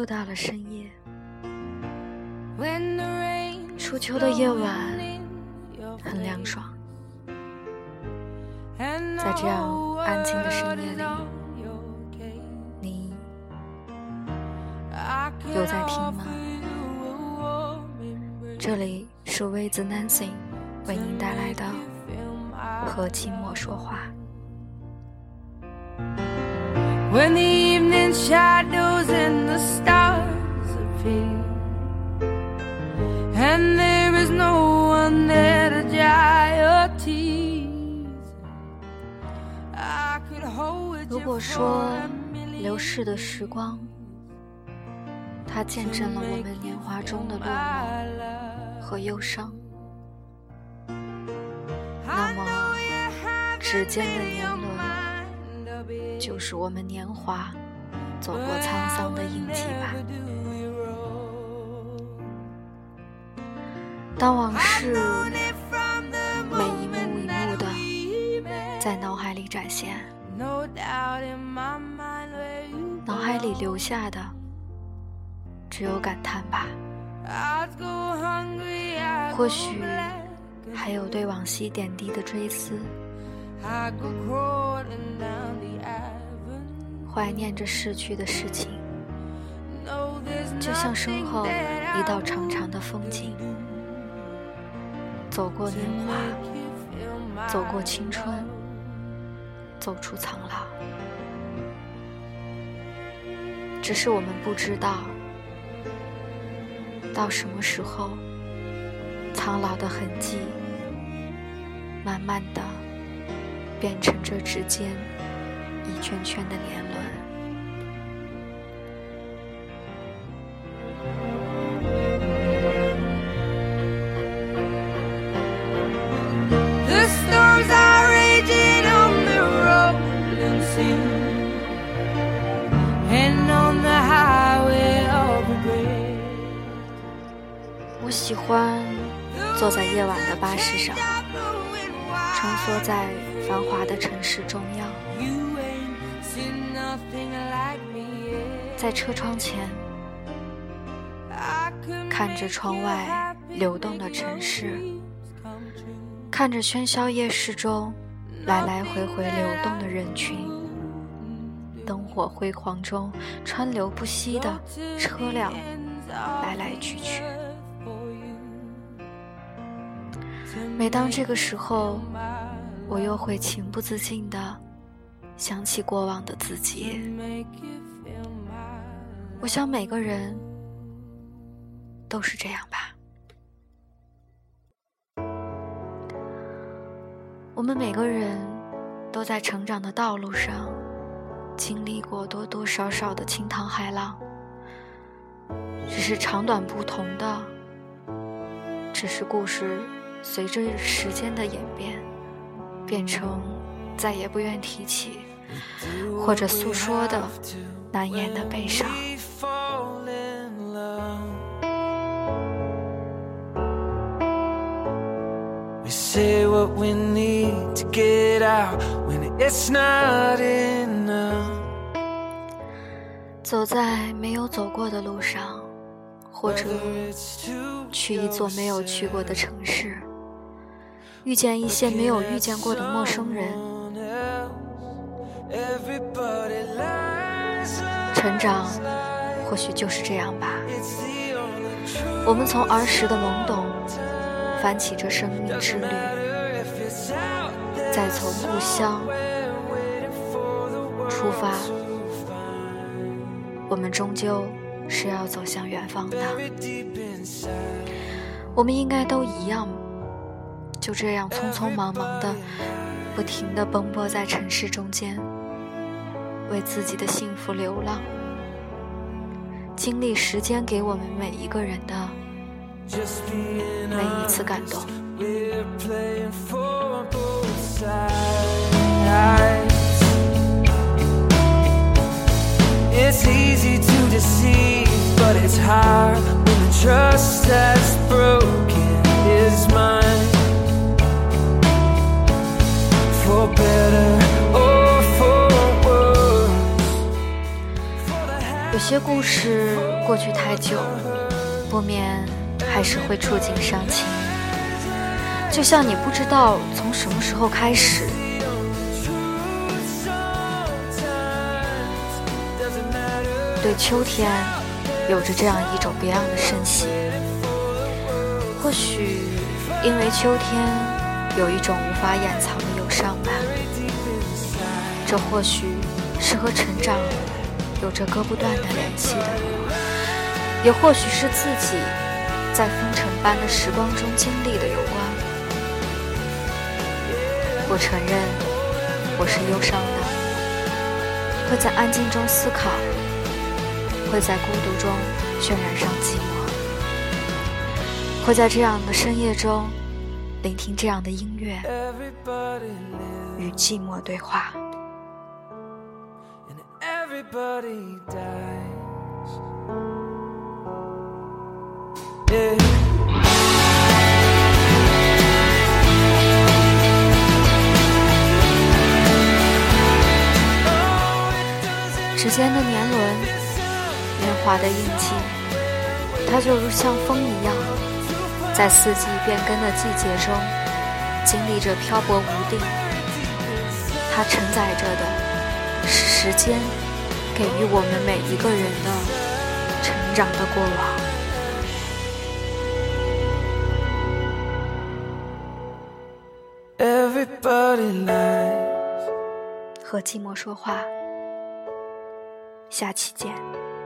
又到了深夜，初秋的夜晚很凉爽，在这样安静的深夜里，你有在听吗？这里是With Nancy为您带来的和寂寞说话。 When the evening shadows and the stars appear, and there is no one there to dry your tears, I could hold 如果说流逝的时光，它见证了我们年华中的落寞和忧伤，那么指尖的年轮就是我们年华走过沧桑的印记吧。当往事每一幕一幕的在脑海里展现，脑海里留下的只有感叹吧。或许还有对往昔点滴的追思，怀念着逝去的事情，就像身后一道长长的风景，走过年华，走过青春，走出苍老。只是我们不知道，到什么时候，苍老的痕迹慢慢的变成这指尖一圈圈的年轮。我喜欢坐在夜晚的巴士上，穿梭在繁华的城市中央，在车窗前看着窗外流动的城市，看着喧嚣夜市中来来回回流动的人群，灯火辉煌中川流不息的车辆来来去去。每当这个时候，我又会情不自禁地想起过往的自己。我想每个人都是这样吧。我们每个人都在成长的道路上经历过多多少少的惊涛骇浪，只是长短不同的，只是故事随着时间的演变变成再也不愿提起或者诉说的难言的悲伤。 Say what we need to get out when it's not enough. 走在没有走过的路上，或者去一座没有去过的城市，遇见一些没有遇见过的陌生人。成长或许就是这样吧，我们从儿时的懵懂翻起这生命之旅，再从故乡出发，我们终究是要走向远方的。我们应该都一样，就这样匆匆忙忙的不停地奔波在城市中间，为自己的幸福流浪，经历时间给我们每一个人的每一次感动。 It's easy to deceive, but it's hard when the trust that's broken is mine. For better or for worse. 些故事过去太久，不免还是会触景伤情，就像你不知道从什么时候开始，对秋天有着这样一种别样的深喜。或许因为秋天有一种无法掩藏的忧伤吧，这或许是和成长有着割不断的联系的，也或许是自己在风尘般的时光中经历的有关。我承认我是忧伤的，会在安静中思考，会在孤独中渲染上寂寞，会在这样的深夜中聆听这样的音乐，与寂寞对话。 Everybody dies. Yeah. 时间的年轮，年华的印记，它就如像风一样，在四季变更的季节中，经历着漂泊无定。它承载着的是时间给予我们每一个人的成长的过往。 Everybody lies. 和寂寞说话，下期见。